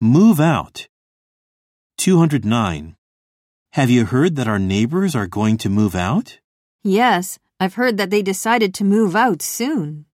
Move out. 209. Have you heard that our neighbors are going to move out? Yes, I've heard that they decided to move out soon.